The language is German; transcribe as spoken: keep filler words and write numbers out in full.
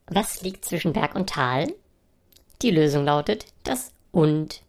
Was liegt zwischen Berg und Tal? Die Lösung lautet das Und.